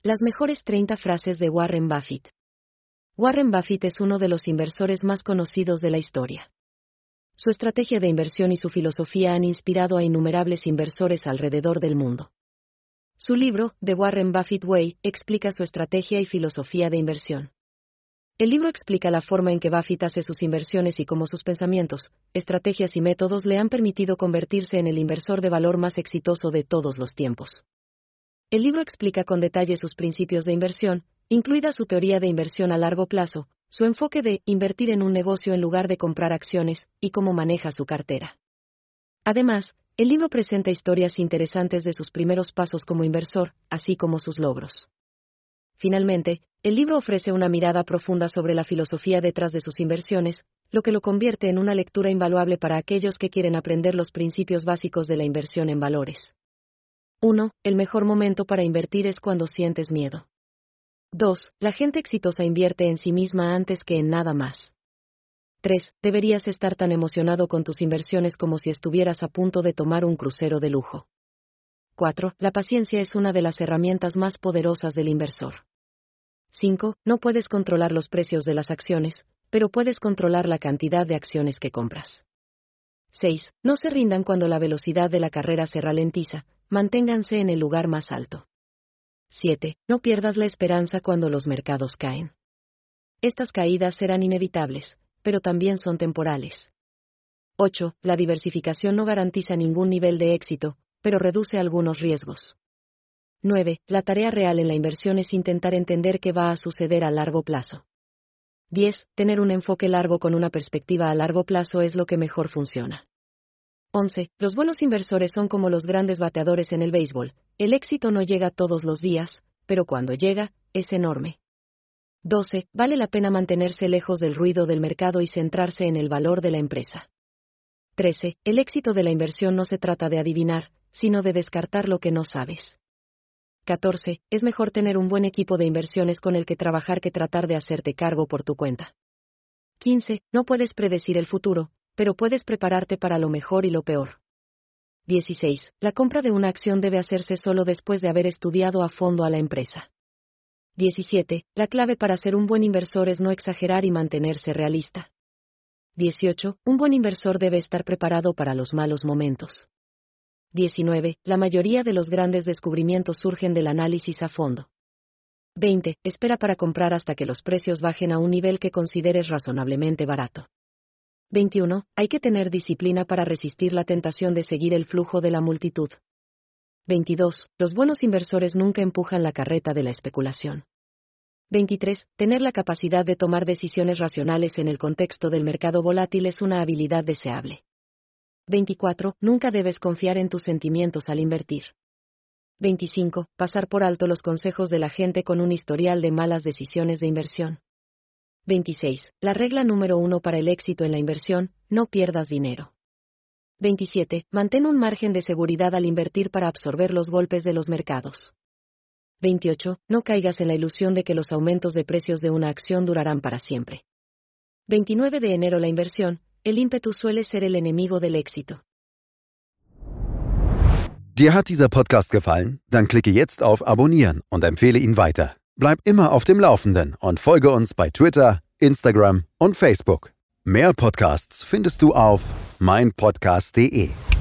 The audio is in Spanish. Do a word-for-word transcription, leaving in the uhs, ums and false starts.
Las mejores treinta frases de Warren Buffett. Warren Buffett es uno de los inversores más conocidos de la historia. Su estrategia de inversión y su filosofía han inspirado a innumerables inversores alrededor del mundo. Su libro, The Warren Buffett Way, explica su estrategia y filosofía de inversión. El libro explica la forma en que Buffett hace sus inversiones y cómo sus pensamientos, estrategias y métodos le han permitido convertirse en el inversor de valor más exitoso de todos los tiempos. El libro explica con detalle sus principios de inversión, incluida su teoría de inversión a largo plazo, su enfoque de invertir en un negocio en lugar de comprar acciones, y cómo maneja su cartera. Además, el libro presenta historias interesantes de sus primeros pasos como inversor, así como sus logros. Finalmente, el libro ofrece una mirada profunda sobre la filosofía detrás de sus inversiones, lo que lo convierte en una lectura invaluable para aquellos que quieren aprender los principios básicos de la inversión en valores. uno. El mejor momento para invertir es cuando sientes miedo. dos. La gente exitosa invierte en sí misma antes que en nada más. tres. Deberías estar tan emocionado con tus inversiones como si estuvieras a punto de tomar un crucero de lujo. cuatro. La paciencia es una de las herramientas más poderosas del inversor. cinco. No puedes controlar los precios de las acciones, pero puedes controlar la cantidad de acciones que compras. seis. No se rindan cuando la velocidad de la carrera se ralentiza, manténganse en el lugar más alto. siete. No pierdas la esperanza cuando los mercados caen. Estas caídas serán inevitables, pero también son temporales. ocho. La diversificación no garantiza ningún nivel de éxito, pero reduce algunos riesgos. nueve. La tarea real en la inversión es intentar entender qué va a suceder a largo plazo. diez. Tener un enfoque largo con una perspectiva a largo plazo es lo que mejor funciona. once. Los buenos inversores son como los grandes bateadores en el béisbol. El éxito no llega todos los días, pero cuando llega, es enorme. doce. Vale la pena mantenerse lejos del ruido del mercado y centrarse en el valor de la empresa. trece. El éxito de la inversión no se trata de adivinar, sino de descartar lo que no sabes. catorce. Es mejor tener un buen equipo de inversiones con el que trabajar que tratar de hacerte cargo por tu cuenta. quince. No puedes predecir el futuro, pero puedes prepararte para lo mejor y lo peor. dieciséis. La compra de una acción debe hacerse solo después de haber estudiado a fondo a la empresa. diecisiete. La clave para ser un buen inversor es no exagerar y mantenerse realista. dieciocho. Un buen inversor debe estar preparado para los malos momentos. diecinueve. La mayoría de los grandes descubrimientos surgen del análisis a fondo. veinte. Espera para comprar hasta que los precios bajen a un nivel que consideres razonablemente barato. veintiuno. Hay que tener disciplina para resistir la tentación de seguir el flujo de la multitud. veintidós. Los buenos inversores nunca empujan la carreta de la especulación. veintitrés. Tener la capacidad de tomar decisiones racionales en el contexto del mercado volátil es una habilidad deseable. veinticuatro. Nunca debes confiar en tus sentimientos al invertir. veinticinco. Pasar por alto los consejos de la gente con un historial de malas decisiones de inversión. veintiséis. La regla número uno para el éxito en la inversión: no pierdas dinero. veintisiete. Mantén un margen de seguridad al invertir para absorber los golpes de los mercados. veintiocho. No caigas en la ilusión de que los aumentos de precios de una acción durarán para siempre. veintinueve de enero. La inversión, el ímpetu suele ser el enemigo del éxito. Dir hat dieser Podcast gefallen? Dann klicke jetzt auf Abonnieren und empfehle ihn weiter. Bleib immer auf dem Laufenden und folge uns bei Twitter, Instagram und Facebook. Mehr Podcasts findest du auf mein podcast punkt de.